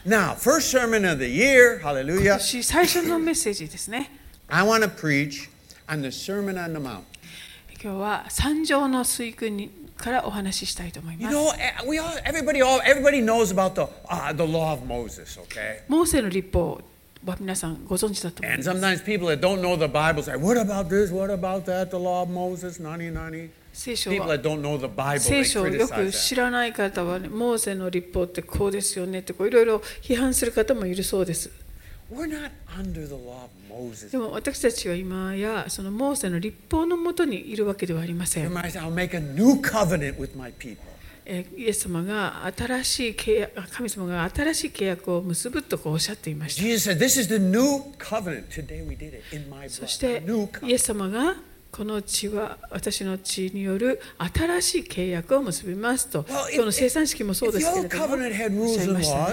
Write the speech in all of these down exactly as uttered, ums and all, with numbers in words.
Now, first sermon of the year, hallelujah. 今年最初のメッセージですね。 I want to preach on the Sermon on the Mount. 今日は山上の水訓にからお話ししたいと思い You ます。 know, we all, everybody, all, everybody knows about the uh, the law of Moses, okay? モーセの律法は皆さんご存知だと思い And ます。 sometimes people that don't know the Bible say, "What about this? What about that? The law of Moses, nani nani." 聖書 People は that don't know the Bible, 聖 they 書をよく criticize 知 that. らない方は、ね、モーセの律法ってこうですよねってこういろいろ批判する方もいるそうです。 We're not under the law of Moses. でも私たちは今やそのモーセの律法のもとにいるわけではありません。 I'll make a new covenant with my people. えイエス様が新しい契約、神様が新しい契約を結ぶとこうおっしゃっていました。 Jesus said, "This is the new covenant. Today we did it in my そ blood." して New イエ covenant. ス様がこの血は私の血による新しい契約を結びますと、 Well, if- 今日の生産式もそうですけれ If ど the も old covenant had おっ rules しゃい and ましたね。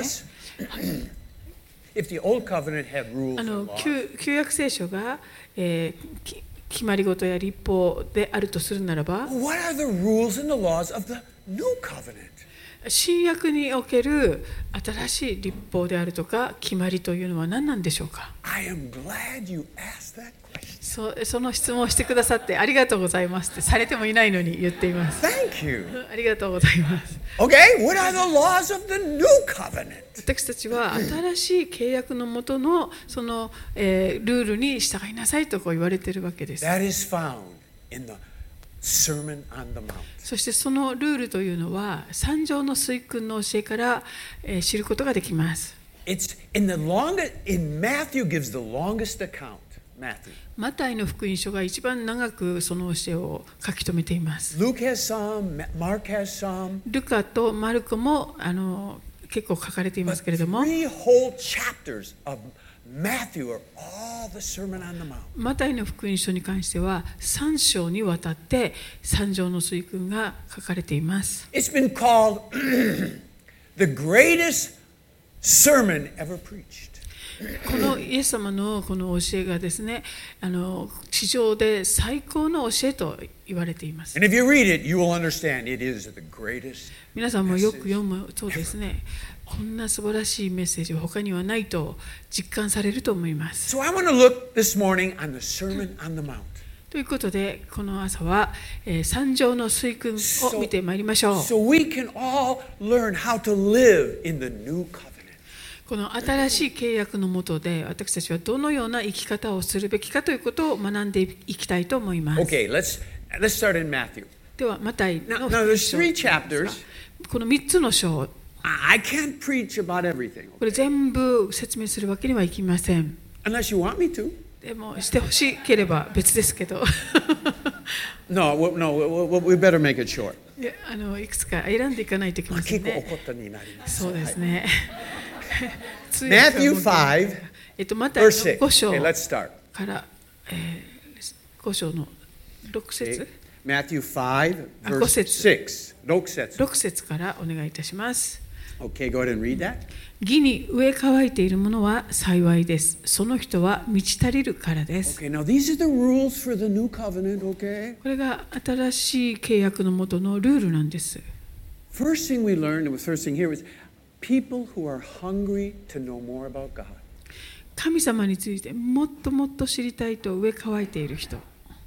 laws, if the old covenant had rules あ and の laws, 旧旧約聖書が、えーき決まり事や律法であるとするならば、 what are the rules and the laws of the new covenant? 新約における新しい律法であるとか決まりというのは何なんでしょうか。 I am glad you asked that question. そ, その質問をしてくださってありがとうございますってされてもいないのに言っています。 Thank you. ありがとうございます。 Okay, what are the laws of the new covenant? 私たちは新しい契約のもとのその、えー、ルールに従いなさいとこう言われているわけです。 That is found in the Sermon on the Mount. そしてそのルールというのは山上の水訓の教えから、えー、知ることができます。 It's in the longest, in Matthew gives the longest account. Matthew. マタイの福音書が一番長くその教えを書き留めています。 Luke has some, Mark has some. ルカとマルコもあの結構書かれていますけれども、 Three whole chapters of Matthew are all the Sermon on the Mount. マタイの福音書に関してはさん章にわたって山上の水訓が書かれています。 It's been called the greatest sermon ever preached. このイエス様のこの教えがですね、あの地上で最高の教えと言われています。 And if you read it, you will understand it is the greatest. 皆さんもよく読むとですね、こんな素晴らしいメッセージは他にはないと実感されると思います。 So I want to look this morning on the Sermon on the Mount. ということで、この朝は、えー、山上の水訓を見てまいりましょう。 So we can all learn how to live in the new covenant. この新しい契約の下で私たちはどのような生き方をするべきかということを学んでいきたいと思います。 Okay, let's let's start in Matthew. ではマタイ Now, の now 福音 there's 書 three chapters. このみっつの章、 I can't preach about everything これ全部説明するわけにはいきません。 unless you want me to. でもしてほしければ別ですけど No, we- no, we, we better make it short. いやあのいくつか選んでいかないといけませんね。そうですね。通訳は Matthew 本当に five, えっとマタイの verse ご six. 章 Okay, let's start. から、えー、ご章のろく Okay. 節 Matthew five, あ、ご verse 節。 six. ろく節。 ろく節からお願いいたします。 Okay, go ahead and read that. 義に飢え渇いている者は幸いです。その人は満ち足りるからです。 Okay, now these are the rules for the new covenant, okay? これが新しい契約の下のルールなんです。 First thing we learned, and the first thing here was people who are hungry to know more about God. 神様についてもっともっと知りたいと飢え渇いている人。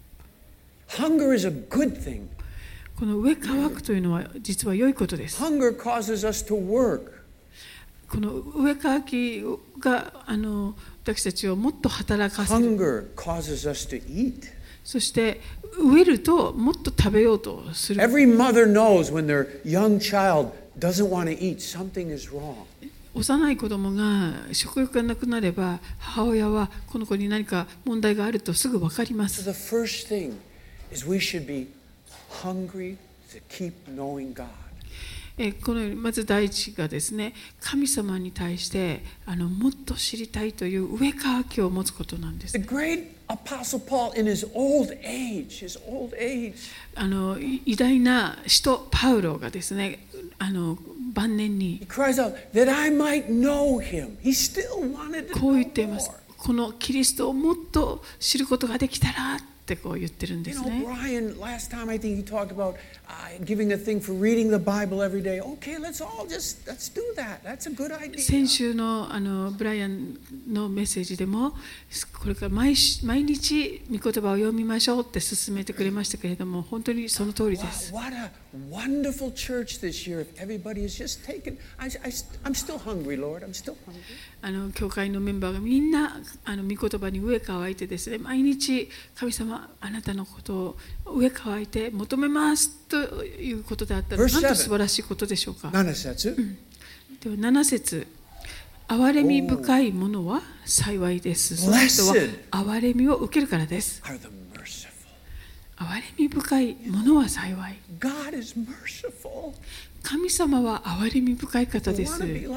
Hunger is a good thing. この飢え渇くというのは実は良いことです。 Hunger causes us to work. この飢え渇きがあの私たちをもっと働かせる。 Hunger causes us to eat. そして飢えるともっと食べようとする。 Every mother knows when their young child doesn't want to eat, something is wrong. 幼い子供が食欲がなくなれば母親はこの子に何か問題があるとすぐ分かりま So す。 the first thing is we should be hungry to keep knowing God. えこのまず第一がですね、神様に対してあのもっと知りたいという飢え渇きを持つことなんです。 The great Apostle Paul in his old age, his old age, あの偉大な使徒パウロがですね、あの晩年 he に cries out that I might know him. He still wanted to こう言 know っています。 more. このキリストをもっと知ることができたらってこう言ってるんで You す know, ね。 Brian, last time I think he talked about uh, giving a thing for reading the Bible every day. Okay, let's all just, let's do that. That's a good idea. 先週のあのブライアンのメッセージでもこれから 毎, 毎日御言葉を読みましょうって勧めてくれましたけれども、本当にその通りです。 What, what a wonderful church this year if everybody is just taken. I, I, I'm still hungry, Lord. I'm still hungry. あの教会のメンバーがみんなあの御言葉に飢え乾いてですね、毎日神様あなたのことを飢え乾いて求めますということであったら、なんと素晴らしいことでしょうか。 なな節、うん、 ではなな節、憐れみ深いものは幸いです。その人は憐れみを受けるからです。憐れみ深いものは幸い。 God is merciful. 神様は憐れみ深い方です。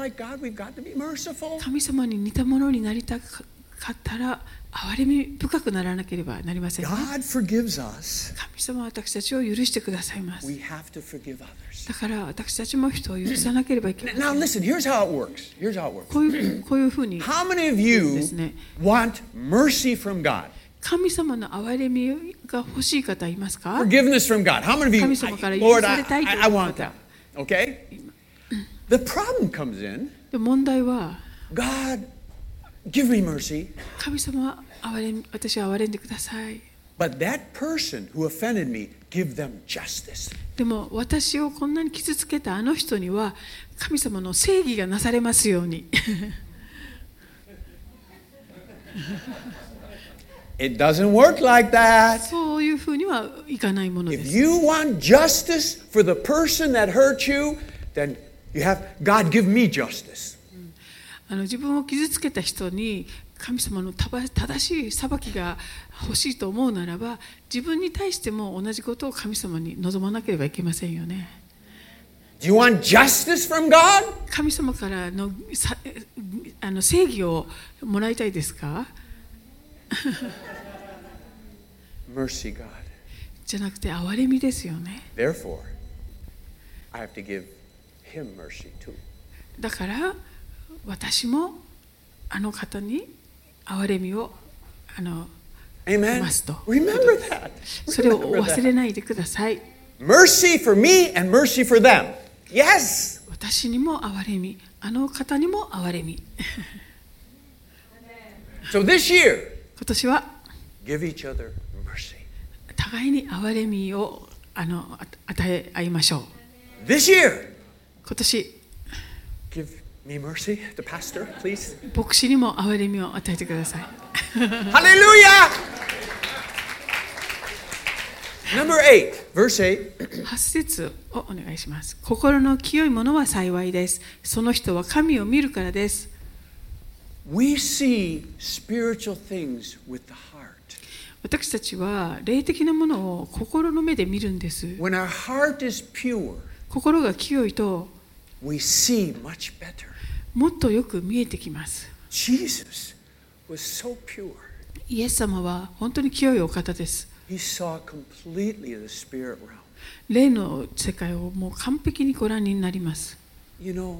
神様に似たものになりたかったら憐れみ深くならなければなりません、ね。 God forgives us. 神様は私たちを許してくださいます。 We have to forgive others. だから私たちも人を許さなければいけない。 Now listen, here's how it works. Here's how it works. こういうこういうふうに。 How many of you want mercy from God? 神様の憐れみが欲しい方いますか？ Forgiveness from God. How many of you? 神様から許 Lord, さ I, れたいと I, いう I 方。 want that. Okay? The problem comes in. 問題は、 God, give me mercy. 神様は憐れみ、私は憐れんでください。 But that person who offended me, give them justice. でも私をこんなに傷つけたあの人には神様の正義がなされますように。 It doesn't work like that. そういうふうにはいかないもので If す。 you want justice for the person that hurt you, then you have God give me justice. あの自分を傷つけた人に神様の正しい裁きが欲しいと思うならば、自分に対しても同じことを神様に望まなければいけませんよね。 Do you want justice from God? 神様からのさあの正義をもらいたいですか？ Mercy, God. じゃなくて憐れみですよね。 Therefore, I have to give him mercy too. だから私もあの方に憐れみをあの Amen. ますと。 Remember that. それを Remember 忘 that. れないでください。 Mercy for me and mercy for them. Yes. 私にも憐れみ、あの方にも憐れみ。 So this year, 今年は give each other mercy. 互いに憐れみをあの与え合いましょう。 This year, 今年 give me mercy, the pastor, please. 牧師にも憐れみを与えてください。 Hallelujah! Number eight, verse eight. はち節をお願いします。心の清いものは幸いです。その人は神を見るからです。 We see spiritual things with the heart. 私たちは霊的なものを心の目で見るんです。 When our heart is pure, 心が清いと we see much better. もっとよく見えてきます。 Jesus was so pure. イエス様は本当に清いお方です。 He saw completely the spirit realm. 霊の世界をもう完璧にご覧になります。 You know,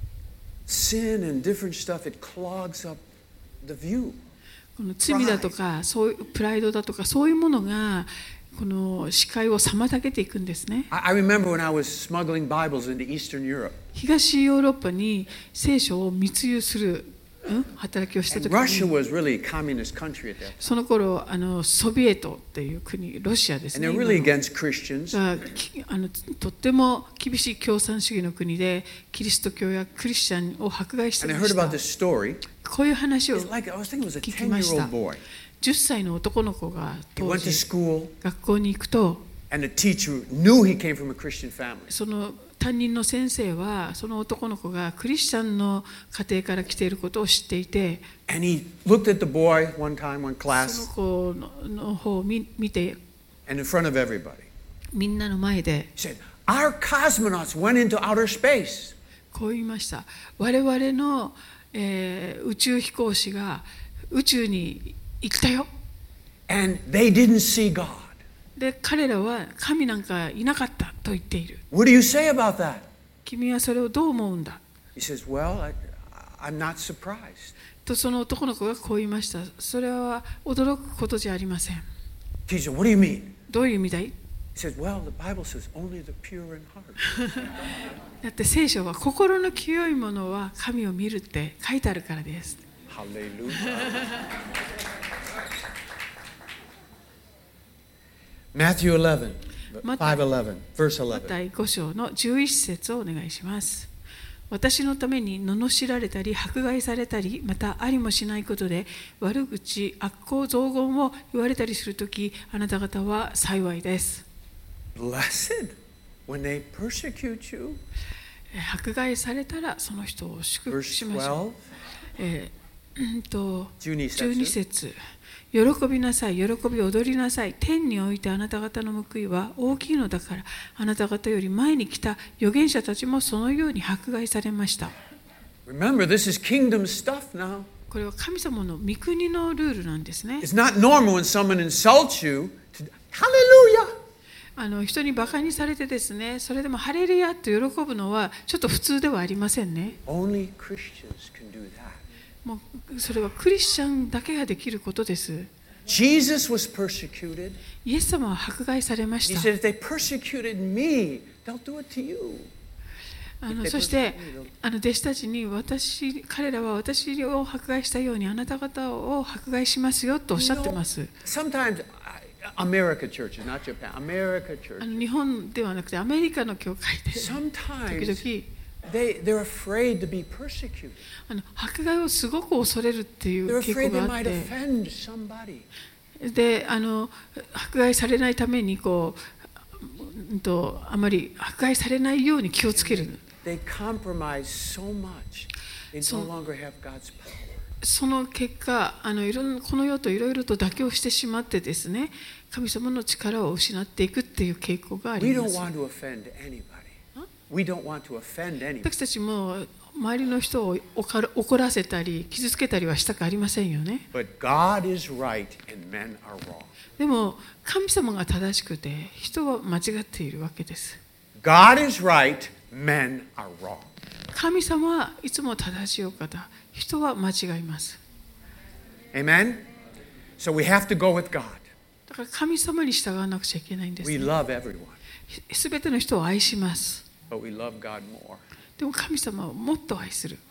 sin and different stuff, it clogs up the view. この罪だとかそういうプライドだとかそういうものがこの視界を妨げていくんですね。 I, I remember when I was smuggling Bibles into Eastern Europe. 東ヨーロッパに聖書を密輸する、うん、働きをしたとき Russia に、 was really a communist country at that time. その頃あのソビエトっていう国、ロシアです And ね。 they're 今 really の against Christians. がきあのとっても厳しい共産主義の国でキリスト教やクリスチャンを迫害してい And I まし heard た。 about this story. こういう話を It's like, I was thinking it was a 聞きました ten-year-old boy. じゅっさいの男の子が He 当 went to 時 school, 学校に行くと、 and the teacher knew he came from a Christian family. その担任の先生はその男の子がクリスチャンの家庭から来ていることを知っていて、 And he looked at the boy one time, one そ class, の子のの方を見見て and in front of everybody. みんなの前で He said, our cosmonauts went into outer space. こう言いました。我々の、えー宇宙飛行士が宇宙に行ったよ。 And they didn't see God. で彼らは神なんかいなかったと言っている。 What do you say about that? 君はそれをどう思うんだ He says, well, I, I'm not surprised. とその男の子がこう言いました。それは驚くことじゃありません。 Teacher, what do you mean? どういう意味だい？ He says, well, the Bible says only the pure in heart. だって聖書は心の清いものは神を見るって書いてあるからです。 Hallelujah. Matthew eleven, five eleven, verse マ eleven. タイご章のじゅういっ節をお願いします。私のために罵られたり迫害されたり、またありもしないことで悪口、悪行、雑言を言われたりするとき、あなた方は幸いです。 Blessed when they persecute you. 迫害されたらその人を祝福 Verse しましょう。 twelve. えーうんとじゅうに節。 じゅうに節。喜びなさい、喜び踊りなさい。天においてあなた方の報いは大きいのだから、あなた方より前に来た預言者たちもそのように迫害されました。 Remember, this is kingdom stuff now. これは神様の御国のルールなんですね。 It's not normal when someone insults you to, Hallelujah. あの人にバカにされてですね、それでもハレルヤと喜ぶのはちょっと普通ではありませんね。 Only Christians can do that. もうそれはクリスチャンだけができることです。 Jesus was persecuted. イエス様は迫害されま He した。 said, if they persecuted me, they'll do it to you. あのそしてあの弟子たちに私彼らは私を迫害したようにあなた方を迫害しますよとおっしゃってます。 Sometimes America churches, not Japan, America あ churches. の日本ではなくてアメリカの教会で時 Sometimes 々 they, they're afraid to be persecuted. あの迫害をすごく恐れるってい They're う傾 afraid 向 they があっ might て、 offend somebody. であの迫害されないためにこう、うんと、あまり迫害されないように気をつける。 They compromise so much. They So- no longer have God's power. その結果あのいろんこの世といろいろと妥協してしまってですね、神様の力を失っていくっていう傾向があ We りま don't す。 want to offend anybody. We don't want to offend anybody. 私たちも周りの人を怒らせたり傷つけたりはしたくありませんよね。 But God is right and men are wrong. でも神様が正しくて人は間違っているわけです。 God is right, men are wrong. 神様はいつも正しいお方、人は間違います。 Amen? So we have to go with God. だから神様に従わなくちゃいけないんです、 We ね。 love everyone, すべての人を愛します。 but we love God more. でも神様をもっと愛する。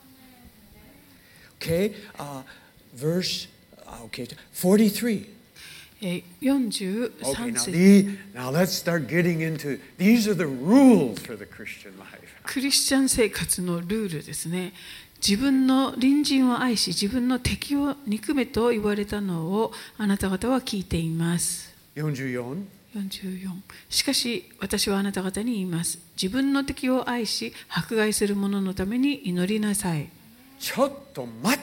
Okay, uh, verse uh, okay, forty-three. えーよんじゅう Okay, さん now, 節。 the, now let's start getting into these are the rules for the Christian life. クリスチャン生活のルールですね。自分の隣人を愛し、自分の敵を憎めと言われたのをあなた方は聞いています。 よんじゅうよん. よんじゅうよん。しかし私はあなた方に言います。自分の敵を愛し、迫害する者のために祈りなさい。 ちょっと待って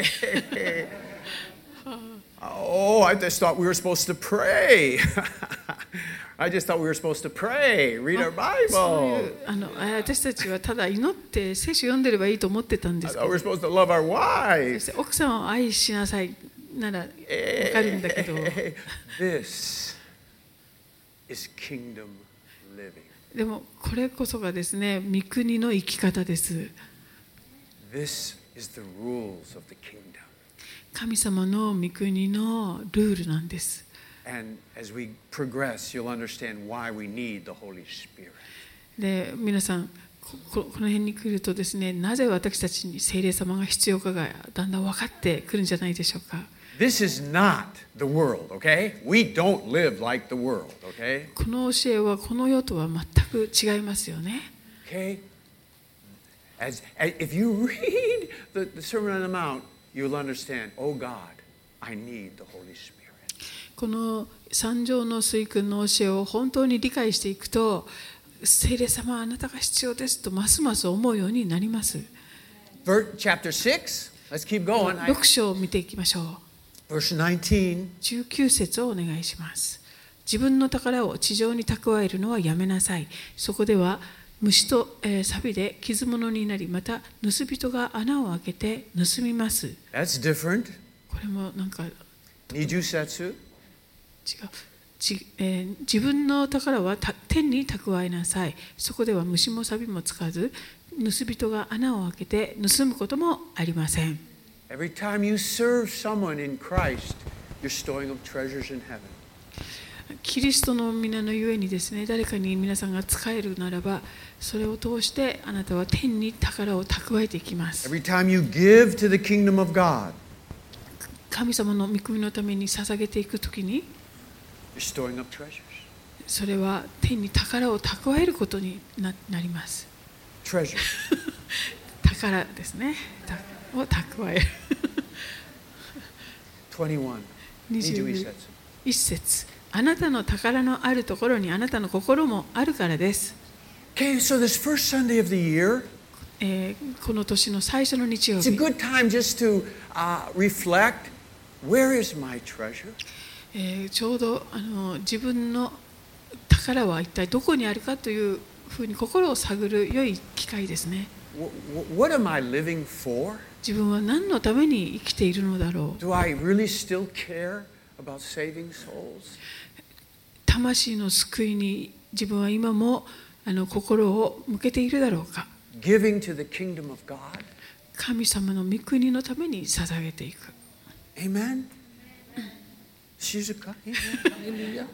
。Oh, I just thought we were supposed to pray. I just thought we were supposed to pray, read our そうい Bible. うあの私たちはただ祈って聖書を読んでればいいと思ってたんで I すけ thought ど、 we were supposed to love our そ wives. して奥さんを愛しなさいならわかるんだけど、 This is kingdom living. でもこれこそがですね、御国の生き方です。 This is the rules of the kingdom. 神様の御国のルールなんです。 And as we progress, you'll understand why we need the Holy Spirit. で、皆さんここの辺に来るとですね、なぜ私たちに聖霊様が必要かがだんだん分かってくるんじゃないでしょうか。 This is not the world, okay? We don't live like the world, okay? この教えはこの世とは全く違いますよね。 Okay? As, as if you read the, the Sermon on the Mount, you'll understand, oh God, I need the Holy Spirit. この三条の水訓の教えを本当に理解していくと、聖霊様あなたが必要ですとますます思うようになります。 Verse, chapter six, let's keep going. I- ろく章を見ていきましょう。 verse nineteen. じゅうきゅう節をお願いします。自分の宝を地上に蓄えるのはやめなさい。そこでは虫と、えー、錆で傷物になり、また盗人が穴を開けて盗みます。 That's different. これもなんか違う。 Nijusetsu. ちえー、自分の宝はた天に蓄えなさい。そこでは虫も錆もつかず、盗人が穴を開けて盗むこともありません。 Every time you serve someone in Christ, you're storing up treasures in heaven. キリストの皆のゆえにですね、誰かに皆さんが仕えるならば、それを通してあなたは天に宝を蓄えていきます。 Every time you give to the kingdom of God, 神様の御国のために捧げていくときに、 you're storing up treasures. それは天に宝を蓄えることに な, なります。 Treasures. 宝ですね。を蓄える。 にじゅういち 節。 一節。あなたの宝のあるところにあなたの心もあるからです。 Okay, so this first Sunday of the year, えー、この年の最初の日曜 it's a 日、 good time just to uh, reflect, where is my treasure? えー、ちょうどあの自分の宝は一体どこにあるかというふうに心を探る良い機会ですね。 What am I living for? 自分は何のために生きているのだろう。 Do I really still care about saving souls? 魂の救いに自分は今もあの心を向けているだろうか。 Giving to the kingdom of God? 神様の御国のために捧げていく。 Amen? 静か? Hallelujah.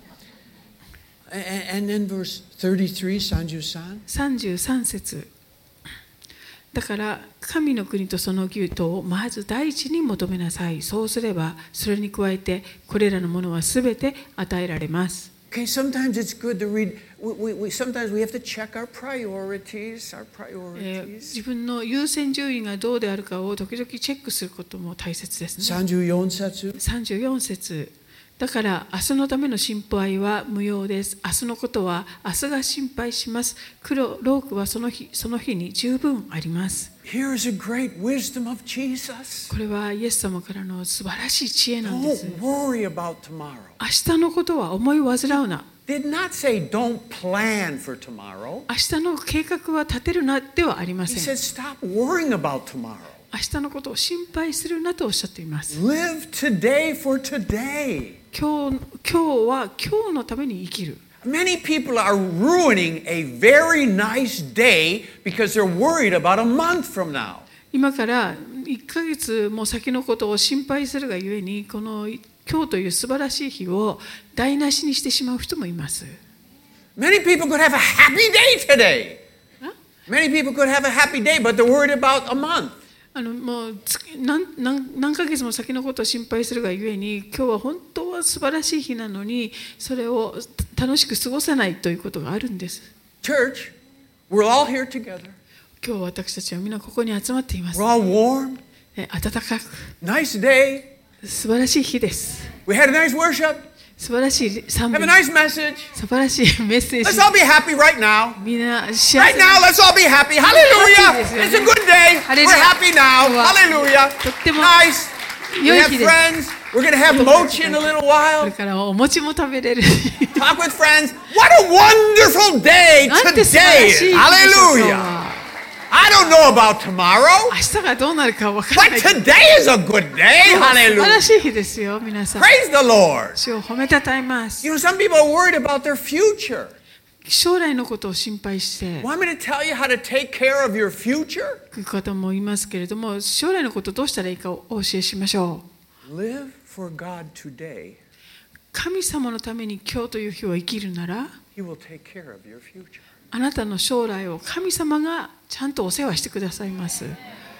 And then verse thirty-three, さんじゅうさん. さんじゅうさん節。だから神の国とその義とをまず第一に求めなさい。そうすればそれに加えてこれらのものはすべて与えられます。 Okay, sometimes it's good to read. We, we, we, sometimes we have to check our priorities, our えー priorities. 自分の優先順位がどうであるかを時々チェックすることも大切ですね。 さんじゅうよん節。 さんじゅうよん節。だから明日のための心配は無用です。明日のことは明日が心配します。黒労苦はその日その日に十分あります。 Here is a great wisdom of Jesus. これはイエス様からの素晴らしい知恵なんです。 Don't worry about tomorrow. 明日のことは思い煩うな。 Did not say don't plan for tomorrow. 明日の計画は立てるなではありま He せん。 said stop worrying about tomorrow. 明日のことを心配するなとおっしゃっています。 Live today for today. 今日、今日は今日のために生きる。 Many people are ruining a very nice day because they're worried about a month from now. 今からいっかげつも先のことを心配するがゆえに、この今日という素晴らしい日を台無しにしてしまう人もいます。 Many people could have a happy day today. Many people could have a happy day, but they're worried about a month. あのもう何, 何, 何ヶ月も先のことを心配するがゆえに、今日は本当は素晴らしい日なのに、それを楽しく過ごせないということがあるんです。 Church, we're all here together. 今日私たちはみんなここに集まっています。 We're all warm. 暖かく Nice day. 素晴らしい日です。 We had a nice worship. 素晴らしい賛美 Have a nice message. 素晴らしいメッセー Let's ジ。 all be happy right now. みんな幸 Right せ now, let's all be happy. Hallelujah. It's a good day. We're happy now. Hallelujah. Nice. We have friends. We're going to have mochi in a little これ while. からお餅も食べれる。 Talk with friends. What a wonderful day なんて素晴ら today しい is. 日でしょう Hallelujah. か。 I don't know about tomorrow, 明日がどうなるかわからな but いけど。 today is a good day. 素晴ら Hallelujah. しい日ですよ、皆さん。 Praise the Lord. 主を褒めたたえます。 You know, some people are worried about their future. 将来のことを心配してい Want me to tell you how to take care of your future? く方もいますけれども、将来のことをどうしたらいいかをお教えしましょう。 Live for God today. 神様のために今日という日を生きるなら、 He will take care of your future. あなたの将来を神様がちゃんとお世話してくださいます。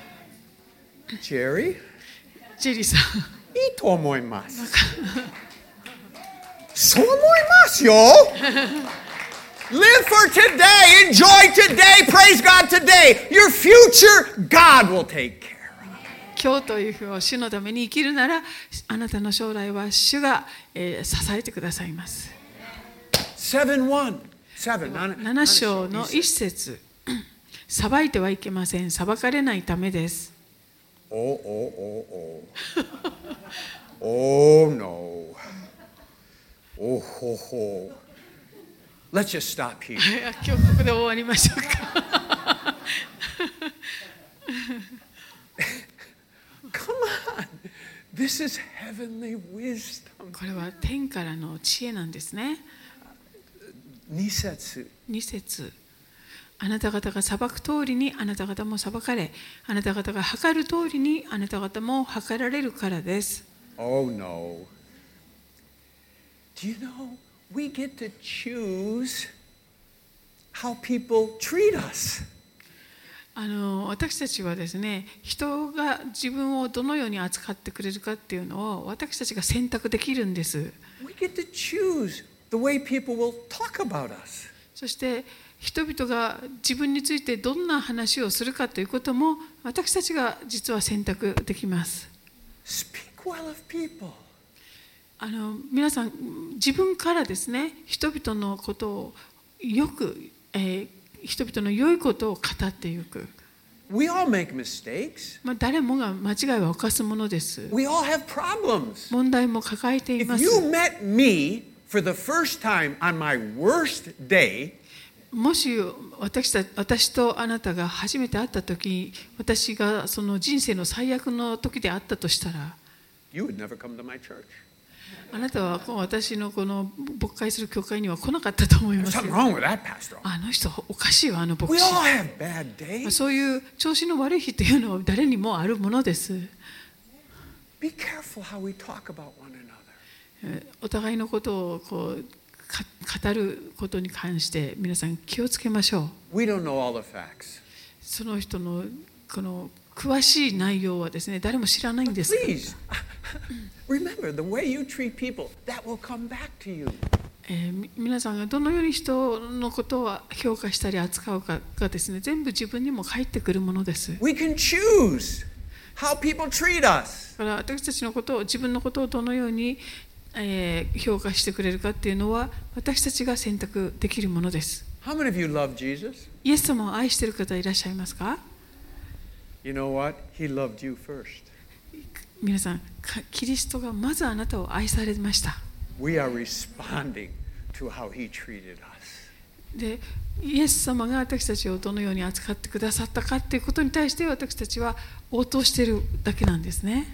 Jerry? ジェリーさん。 いいと思います。そう思いますよ。Live for today, enjoy today, praise God today. Your future, God will take care of. 今日という日を主のために生きるなら、あなたの将来は主が、えー、支えてくださいます。 seven one. なな章の一節。裁いてはいけません。裁かれないためです。 おおおお。Oh no. おほほ。Let's just stop here. 今日ここで終わりましょうか。 Come on. This is heavenly wisdom. これは天からの知恵なんですね。 に節。 に節。あなた方が裁く通りにあなた方も裁かれ、あなた方が計る通りにあなた方も計られるからです。 Oh no. Do you know we get to choose how people treat us? あの私たちはですね、人が自分をどのように扱ってくれるかっていうのを私たちが選択できるんです。 We get to choose the way people will talk about us. そして人々が自分についてどんな話をするかということも私たちが実は選択できます。 Speak well of people. あの皆さん自分からですね、人々のことをよく、えー、人々の良いことを語っていく。 We all make mistakes. まあ誰もが間違いは犯すものです。 We all have problems. 問題も抱えていま If す。 you met me for the first time on my worst day, もし 私, た私とあなたが初めて会った時、私がその人生の最悪の時であったとしたら、 you would never come to my church. あなたは私のこの牧会する教会には来なかったと思います There's よ。 something wrong with that pastor. あの人おかしいわ、あの牧 We 師。 all have bad days. そういう調子の悪い日というのは誰にもあるものです。 Be careful how we talk about one another. お互いのことをこう語ることに関して皆さん気をつけましょう。 We don't know all the facts. その人のこの詳しい内容はですね、誰も知らないんです。 Please, remember the way you treat people, that will come back to you. えー、皆さんがどのように人のことを評価したり扱うかがですね、全部自分にも返ってくるものです。 We can choose how people treat us. だから私たちのことを、自分のことをどのように、えー、評価してくれるかっていうのは私たちが選択できるものです。 How many of you love Jesus? イエス様を愛している方いらっしゃいますか？ You know what? He loved you first. 皆さん、キリストがまずあなたを愛されました。 We are responding to how he treated us. で、イエス様が私たちをどのように扱ってくださったかということに対して私たちは応答しているだけなんですね。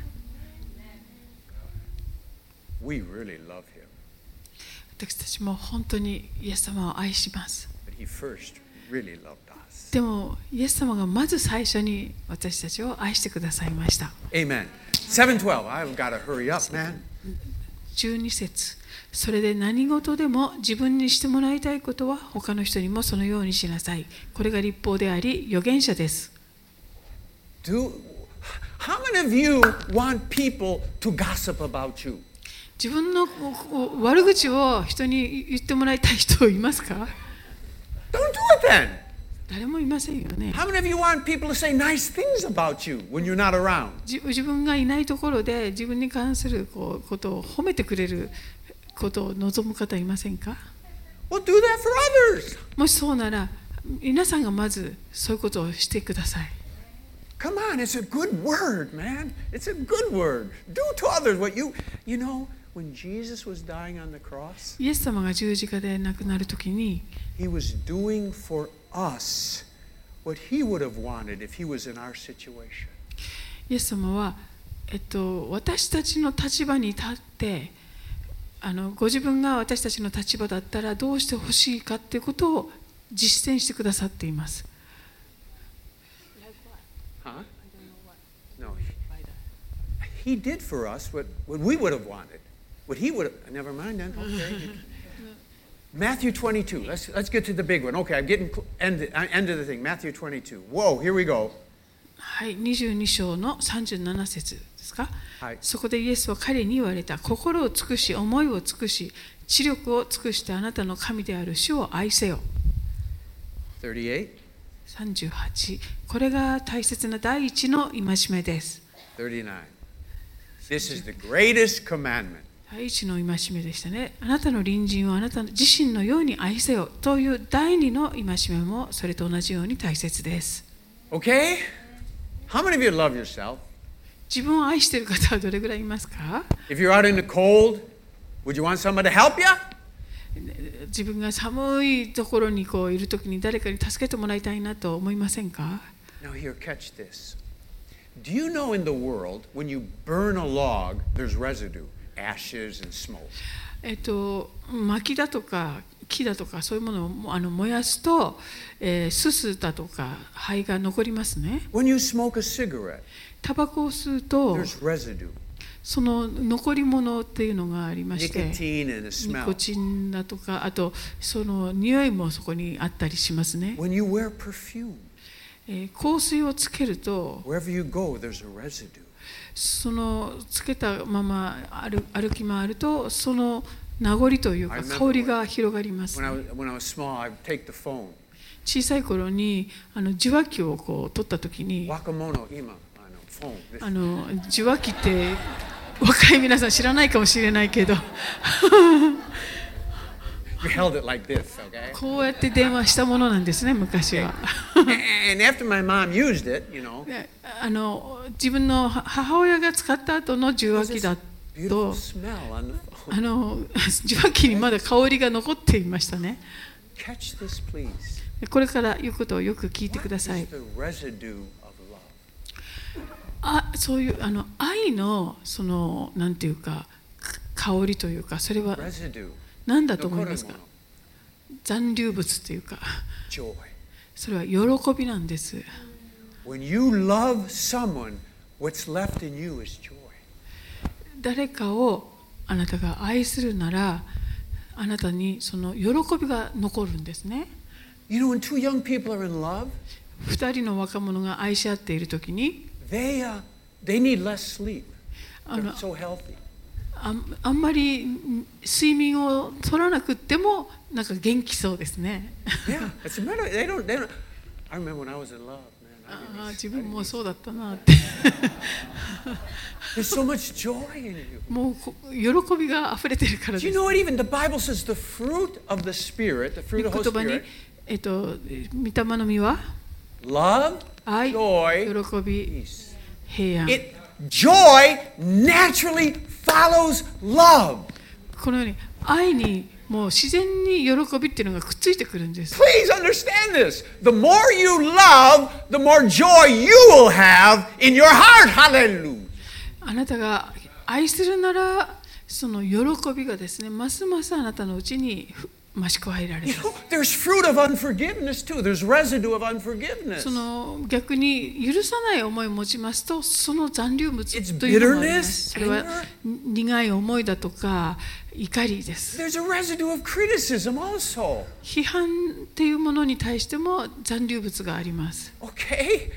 We really love him. 私たちも本当にイエス様を愛します。 But he first really loved us. でもイエス様がまず最初に私たちを愛してくださいました。 Amen. seven twelve. I've got to hurry up, man. じゅうに節。それで何事でも自分にしてもらいたいことは他の人にもそのようにしなさい。これが律法であり預言者です。 Do, how many of you want people to gossip about you? 自分の悪口を人に言ってもらいたい人いますか？ Don't do it then. 誰もいませんよね。 How many of you want people to say nice things about you when you're not around? 自自分がいないところで自分に関するこうことを褒めてくれることを望む方いませんか？ Well, do that for others. もしそうなら皆さんがまずそういうことをしてください。 Come on, it's a good word, man. It's a good word. Do to others what you, you know, when Jesus was dying on the cross, イエス様が十字架で亡くなるときに he was doing for us what he would have wanted if he was in our situation. イエス様は、えっと、私たちの立場に立ってあのご自分が私たちの立場だったらどうしてほしいかということを実践してくださっています。 Huh? No. He, he did for us what, what we would have wanted. What he would have. Never mind then. Okay. Matthew twenty-two. Let's let's get to the big one. Okay, I'm getting end end of the thing. Matthew twenty-two. Whoa, here we go. はい、にじゅうに章のさんじゅうなな節ですか、 はい、 そこでイエスは彼に言われた。心を尽くし、思いを尽くし、知力を尽くしてあなたの神である主を愛せよ。 thirty-eight. さんじゅうはち。これが大切な第一の戒めです。 thirty-nine. This is the greatest commandment. 第一の戒めでしたね。あなたの隣人をあなた自身のように愛せよという第二の戒めもそれと同じように大切です。 Okay? How many of you love yourself? 自分を愛している方はどれぐらいいますか？ If you're out in the cold, would you want someone to help you? 自分が寒いところにこういるときに誰かに助けてもらいたいなと思いませんか？ Now here, catch this. Do you know in the world, when you burn a log, there's residue, ashes and smoke? えっと、薪だとか木だとかそういうものをあの燃やすと、えー、すすだとか灰が残りますね。 When you smoke a cigarette, タバコを吸うと there's residue. その残り物っていうのがありまして、 nicotine and a ニ smell. コチンだとか、あとその匂いもそこにあったりしますね。 When you wear perfume, えー香水をつけると、 wherever you go, there's a residue. そのつけたまま歩歩き回ると、その名残というか香りが広がります When I was, when I was small, I'd take the phone. 小さい頃にあの受話器をこう取った時に、 Wakamono, ima, ano, phone. This- あの受話器って若い皆さん知らないかもしれないけど We held it like this, okay? こうやって電話したものなんですね、昔は。 And after my mom used it, you know, であの自分の母親が使った後の受話器だ beautiful と、 smell on the phone. あの受話器にまだ香りが残っていましたね。 Catch this, please. これから言うことをよく聞いてください。 It's the residue of love. あ、そういうあの愛のそのなんていうか香りというか、それは Residue. 何だと思いますか？ Nokoremono. 残留物というか、 Joy. それは喜びなんです。 When you love someone, what's left in you is joy. 誰かをあなたが愛するなら、あなたにその喜びが残るんですね。 You know, when two young people are in love, 二人の若者が愛し合っているときに、 they, uh, they need less sleep. あの They're so healthy. あん、あんまり睡眠を取らなくってもなんか元気そうですね。 Yeah, it's a matter. They don't. They don't. I remember when I was in love, man. あ I あ didn't, 自分もそうだったなって。 there's so much joy in you. もうこ喜びが溢れてるから Do で you す。 know what? Even the Bible says the fruit of the Spirit, the fruit of the 言 Holy 葉に Spirit, えっと御霊の実は love, 愛、 joy, 喜び、 peace. 平安。 It joy naturally follows love. このように愛にもう自然に喜びっていうのがくっついてくるんです。 Please understand this. The more you love, the more joy you will have in your heart. Hallelujah. あなたが愛するなら、その喜びがですね、ますますあなたのうちに増し加えられ You る。 know, there's fruit of unforgiveness too. There's residue of unforgiveness. その逆に許さない思いを持ちますと、その残留物 It's というのがありま bitterness, す。それは苦い思いだとか怒りです。 There's a residue of criticism also. 批判っていうものに対しても残留物があります。 Okay?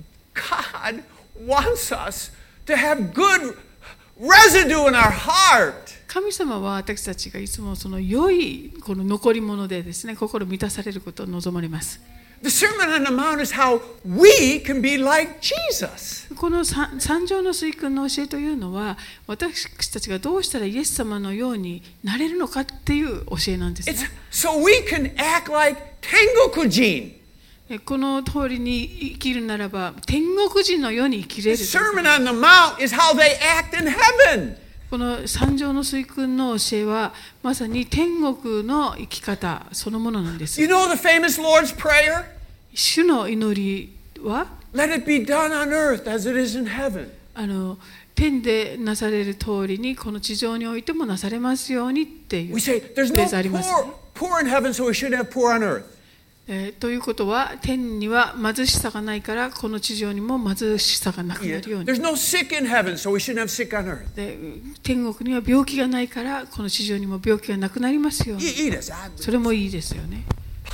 God wants us to have good residue in our heart. 神様は私たちがいつもその良いこの残り物でですね、心満たされることを望まれます。 The Sermon on the Mount is how we can be like Jesus. この三三条の水訓の教えというのは、私たちがどうしたらイエス様のようになれるのかっていう教えなんですね。 It's so we can act like Tengokujin. この通りに生きるならば、天国人のように生きれ The る。 Sermon on the Mount is how they act in heaven. この三条の水訓の教えは、まさに天国の生き方そのものなんです。 You know the famous Lord's Prayer? 主の祈りは、 Let it be done on earth as it is in heaven. あの天でなされる通りにこの地上においてもなされますようにっていう We フ say レ there's ー no ズありますね。 poor, poor in heaven, so we should have poor on earth. えーということは、天には貧しさがないから、この地上にも貧しさがなくなるように。 There's no sick in heaven, so we shouldn't have sick on earth. で天国には病気がないから、この地上にも病気がなくなりますように。 いいです。 それもいいですよね。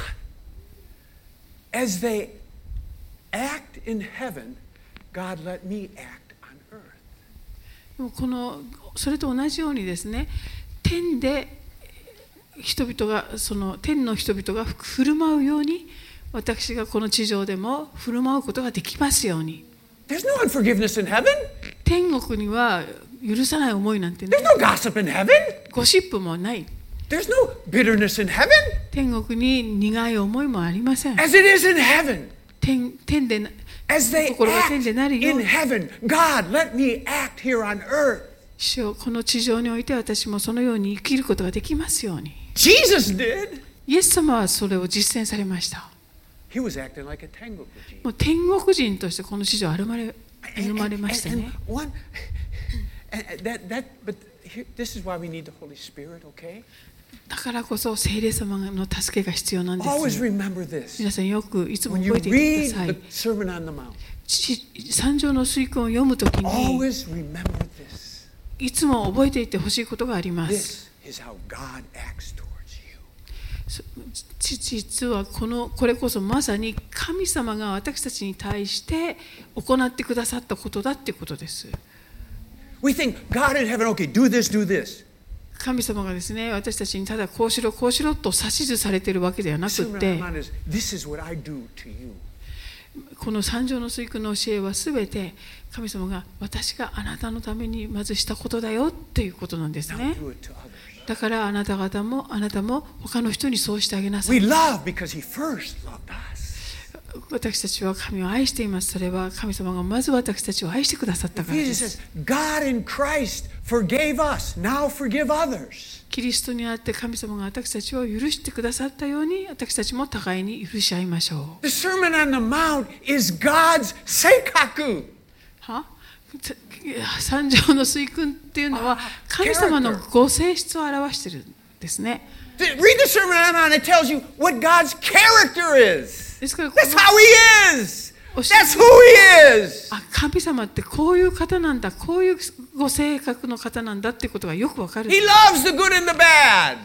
As they act in heaven, God let me act on earth. でもこのそれと同じようにですね、天で人々がその天の人々が振る舞うように、私がこの地上でも振る舞うことができますように。 There's no unforgiveness in heaven. 天国には許さない思いなんてね There's、no gossip in heaven. ゴシップもない。 There's no bitterness in heaven. 天国に苦い思いもありません。 As it is in heaven. 天, 天で As they 心が act 天でなるよう in に、 heaven, God let me act here on earth. 主よ、この地上において私もそのように生きることができますように。 Jesus did. イエス様はそれを実践されました。 He was acting like a Tengokujin. もう天国人としてこの地上歩まれ歩まれましたね。 One, and that, that, but here, this is why we need the Holy Spirit, okay? だからこそ聖霊様の助けが必要なんで Always す。 remember this. 皆さんよくいつも When you 覚えていて read くださ the い。 Sermon on the Mount, ち三条の水訓を読むときに、 always remember this. いつも覚えていてほしいことがあります。 This is how God acts towards you. 実はこのこれこそまさに神様が私たちに対して行ってくださったことだっていうことです。 We think God in heaven, okay, do this, do this. 神様がですね、私たちにただこうしろこうしろと指図されているわけではなくて、 This is what I do to you. この三条の水訓の教えはすべて神様が私があなたのためにまずしたことだよっていうことなんですね。だからあなた方もあなたも他の人にそうしてあげなさい。 We love because He first loved us. 私たちは神を愛しています。それは神様がまず私たちを愛してくださったからです。 God in Christ forgave us. Now forgive others. キリストにあって神様が私たちを許してくださったように、私たちも互いに許し合いましょう。 The Sermon on the Mount is God's seikaku. は？三条の水訓っていうのは神様のご性質を表しているんですね。 Read the Sermon on the Mount. It tells you what God's character is. ですから That's how He is. That's who He is. 神様ってこういう方なんだ、こういうご性格の方なんだってことがよくわかる。 He loves the good and the bad.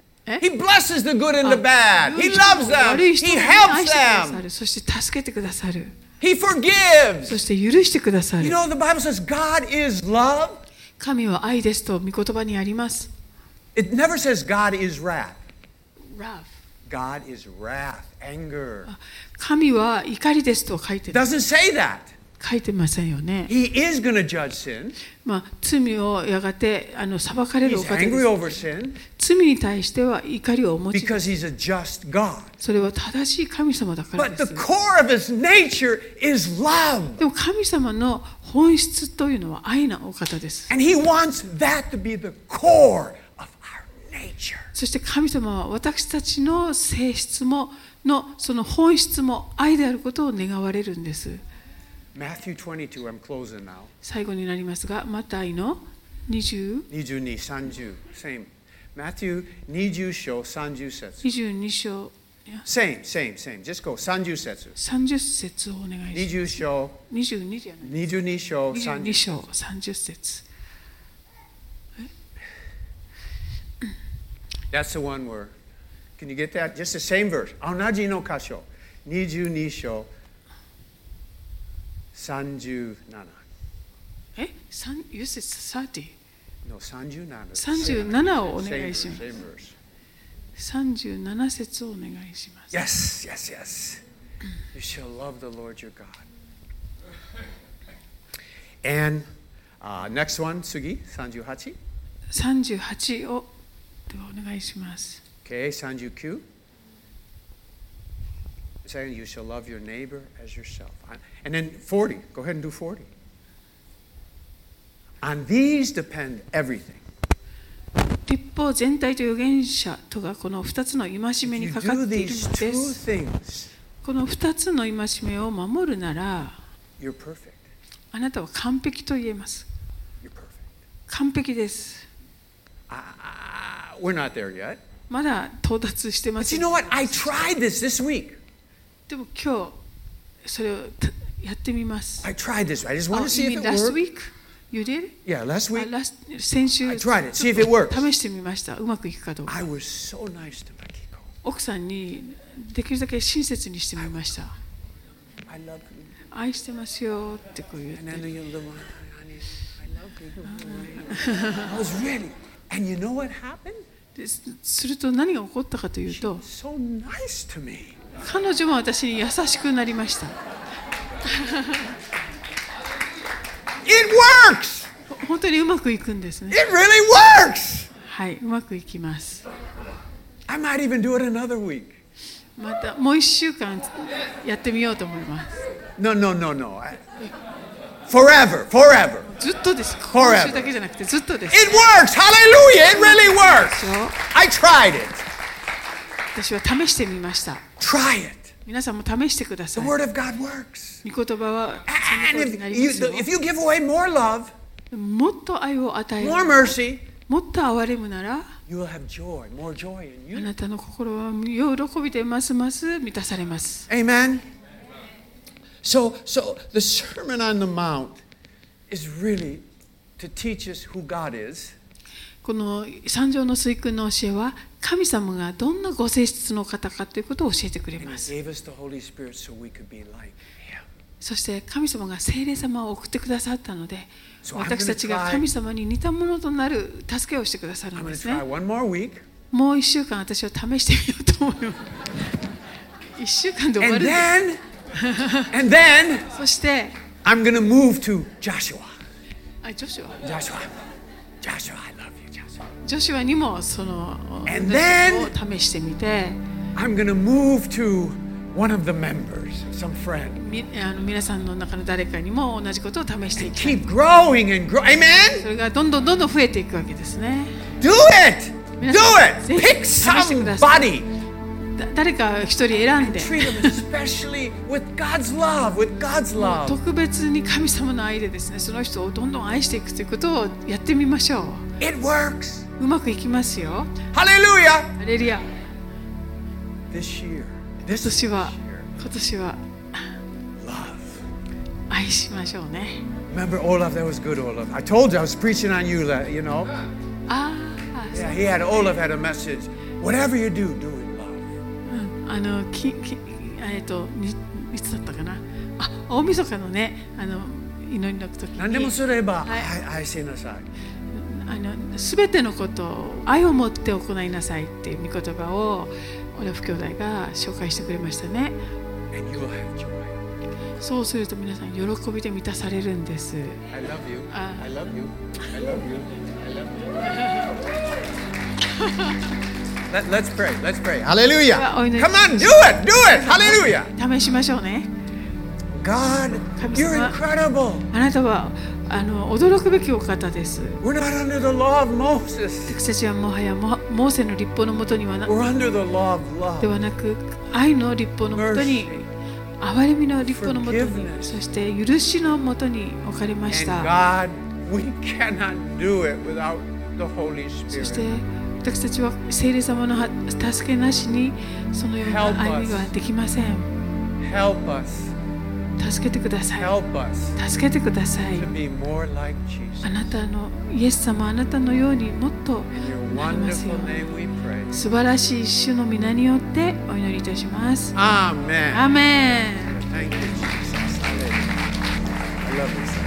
He blesses the good and the bad. He loves them. He helps them. そして助けてくださる。 He forgives. そして許してくださる。 You know, the Bible says God is love. 神は愛ですと御言葉にあります。 It never says God is wrath. Wrath. God is wrath, anger. 神は怒りですと書いてる。 Doesn't say that. 書いてませんよね。 He is going to judge sin. まあ罪をやがてあの裁かれるお He's 方で angry す。 over sin 罪に対しては怒りをお持ちです。 because He's a just God. それは正しい神様だから But で the す。 core of His nature is love. でも神様の本質というのは愛なお方です。 And He wants that to be the core of our nature. そして神様は私たちの性質ものその本質も愛であることを願われるんです。 Matthew twenty-two, I'm closing now. 最後になりますが、マタイのにじゅうに、さんじゅう same. Matthew にじゅう章さんじゅう節。 にじゅうに章 Same, same, same. Just go さんじゅう節。 さんじゅう節をお願いします。 にじゅう章にじゅうにじゃない。 にじゅうに章にじゅうに章さんじゅう節。 That's the one where, can you get that? Just the same verse. 同じの箇所。にじゅうに章さんじゅうなな。 え、三ユーセスサーティ。 No, さんじゅうなな。 さんじゅうななをお願いします。 Same verse. さんじゅうなな節をお願いします。 Yes, yes, yes. You shall love the Lord your God. And uh, next one, 次、さんじゅうはち。 さんじゅうはちをではお願いします。 Okay, さんじゅうきゅう. Saying you shall love your neighbor as yourself. And then forty. Go ahead and do forty. On these depend everything. 立法全体と預言者とがこのふたつの戒めにかかっているのです。このふたつの戒めを守るなら、あなたは完璧と言えます。完璧です。 Uh, we're not there yet. まだ到達してません。 But you know what? I tried this this week. でも今日それをやってみます。 I tried this. I just want to see Oh, if you it mean last worked. week? You did? Yeah, last week. あ、last 先週 I tried it. See if it works. 試してみました。うまくいくかどうか。 I was so nice to Makiko. 奥さんにできるだけ親切にしてみました。 I love you. 愛してますよってこう言って。 And I know you love me. I love you. I was ready. And you know what happened? ですすると何が起こったかという She と、 was so nice to me. 彼女も私に優しくなりました。 It works. 本当にうまくいくんですね。 It really works. はい、うまくいきます。 I might even do it another week. またもう一週間やってみようと思います。 No, no, no, no. I- Forever, forever. ずっとです。 Forever. 今週だけじゃなくてずっとです。 It works. Hallelujah. It really works. I tried it. 私は試してみました。 Try it. 皆さんも試してくださ The い。 word of God works. 御言葉は And その通りにな if り you, ますよ。 if you give away more love, もっと愛を与える、 more mercy, もっと憐れむなら、 you will have joy, more joy in あ you. なたの心は喜びでますます満たされます。 Amen. So, so the Sermon on the Mount is really to teach us who God is. この三条の水訓の教えは神様がどんなご性質の方かということを教えてくれます。そして神様が聖霊様を送ってくださったので、私たちが神様に似たものとなる助けをしてくださるんですね。もう一週間私は試してみようと思います。一週間で終わる。 And then, そして、 I'm going to move to Joshua. あ、ジョシュア。 Joshua. Joshua, I love you, Joshua. ジョシュアにもその And then, を試してみて、 I'm going to move to one of the members, some friend. みあの皆さんの中の誰かにも同じことを試していきたい。 Keep growing and grow. Amen? それがどんどんどんどん増えていくわけですね。 Do it! Do it! Pick somebody. 誰か一人選んで、特別に神様の愛でですね、その人をどんどん愛していくということをやってみましょう。 It works. うまくいきますよ。 ハレルヤ。 ハレルヤ。 This year, 今年は今年は love. 愛しましょうね。 Remember Olaf? That was good, Olaf. I told you I was preaching on you, you know. ああ。 Yeah, he had Olaf had a message. Whatever you do, do it. あのききえっといつだったかな。あ、大晦日のね、あの祈りの時に。 何でもすれば愛しなさい。 あのすべてのことを愛を持って行いなさいっていう御言葉をオラフ兄弟が紹介してくれましたね。 And you will have joy. そうすると皆さん喜びで満たされるんです。 I love you. I love you. I love you. I love you. Let, let's pray. Let's pray. Hallelujah. Come on, do it. Do it. Hallelujah. 試しましょうね。 God, you're incredible. あなたはあの驚くべきお方です。 We're not under the law of Moses. 私たちはもはやモーセの律法のもとにはな We're under the law of love. ではなく、愛の律法のもとに、憐れみの律法のもとに、そして許しのもとに置かれました。 And God, we cannot do it without the Holy Spirit. そして私たちは聖霊様の助けなしにそのような歩みができません。 Help us. 助けてください。 Help us. 助けてください。 To be more like Jesus. あなたのイエス様、あなたのようにもっとなりますように。素晴らしい主の皆によってお祈りいたします。 アーメン。 アーメン。 Thank you, Jesus. I love you.